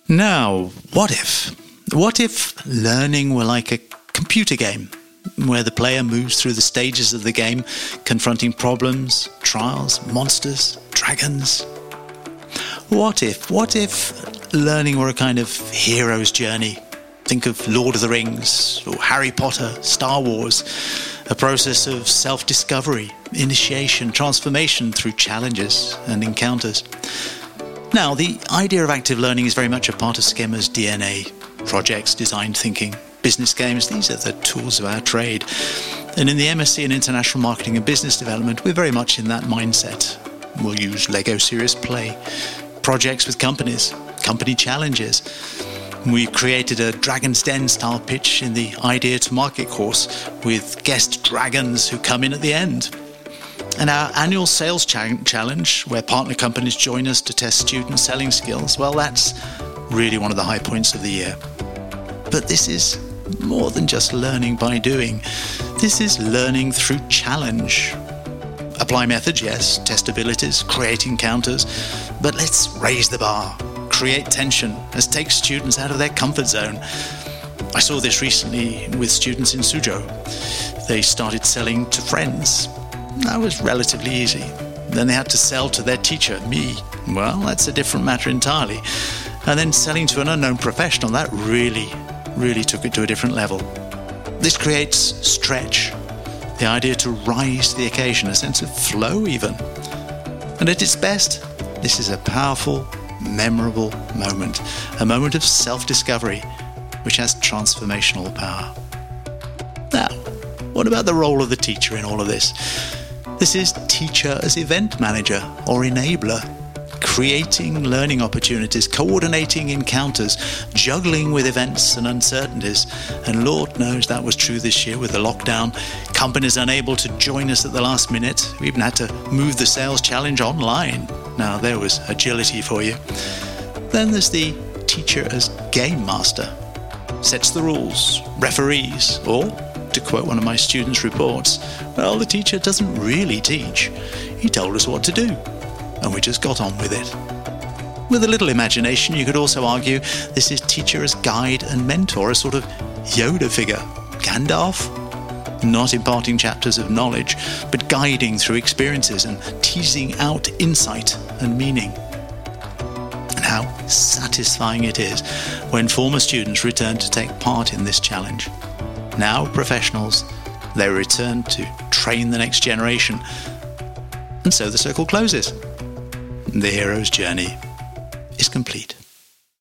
Now, what if? What if learning were like a computer game, where the player moves through the stages of the game, confronting problems, trials, monsters, dragons? What if learning were a kind of hero's journey? Think of Lord of the Rings, or Harry Potter, Star Wars, a process of self-discovery, initiation, transformation through challenges and encounters. Now, the idea of active learning is very much a part of Schema's DNA. Projects, design thinking, business games, these are the tools of our trade. And in the MSc in International Marketing and Business Development, we're very much in that mindset. We'll use Lego Serious Play, projects with companies, company challenges. We created a Dragon's Den style pitch in the Idea to Market course with guest dragons who come in at the end. And our annual sales challenge, where partner companies join us to test student selling skills, well, that's really one of the high points of the year. But this is more than just learning by doing. This is learning through challenge. Apply methods, yes, test abilities, create encounters, but let's raise the bar, create tension, let's take students out of their comfort zone. I saw this recently with students in Suzhou. They started selling to friends. That was relatively easy. Then they had to sell to their teacher, me. Well, that's a different matter entirely. And then selling to an unknown professional, that really took it to a different level. This creates stretch, the idea to rise to the occasion, a sense of flow even. And at its best, this is a powerful, memorable moment, a moment of self-discovery, which has transformational power. Now, what about the role of the teacher in all of this? This is teacher as event manager or enabler, creating learning opportunities, coordinating encounters, juggling with events and uncertainties. And Lord knows that was true this year with the lockdown. Companies unable to join us at the last minute. We even had to move the sales challenge online. Now, there was agility for you. Then there's the teacher as game master. Sets the rules, referees, or, to quote one of my students' reports, well, the teacher doesn't really teach. He told us what to do, and we just got on with it. With a little imagination, you could also argue this is teacher as guide and mentor, a sort of Yoda figure. Gandalf? Not imparting chapters of knowledge, but guiding through experiences and teasing out insight and meaning. And how satisfying it is when former students return to take part in this challenge. Now professionals, they return to train the next generation. And so the circle closes. The hero's journey is complete.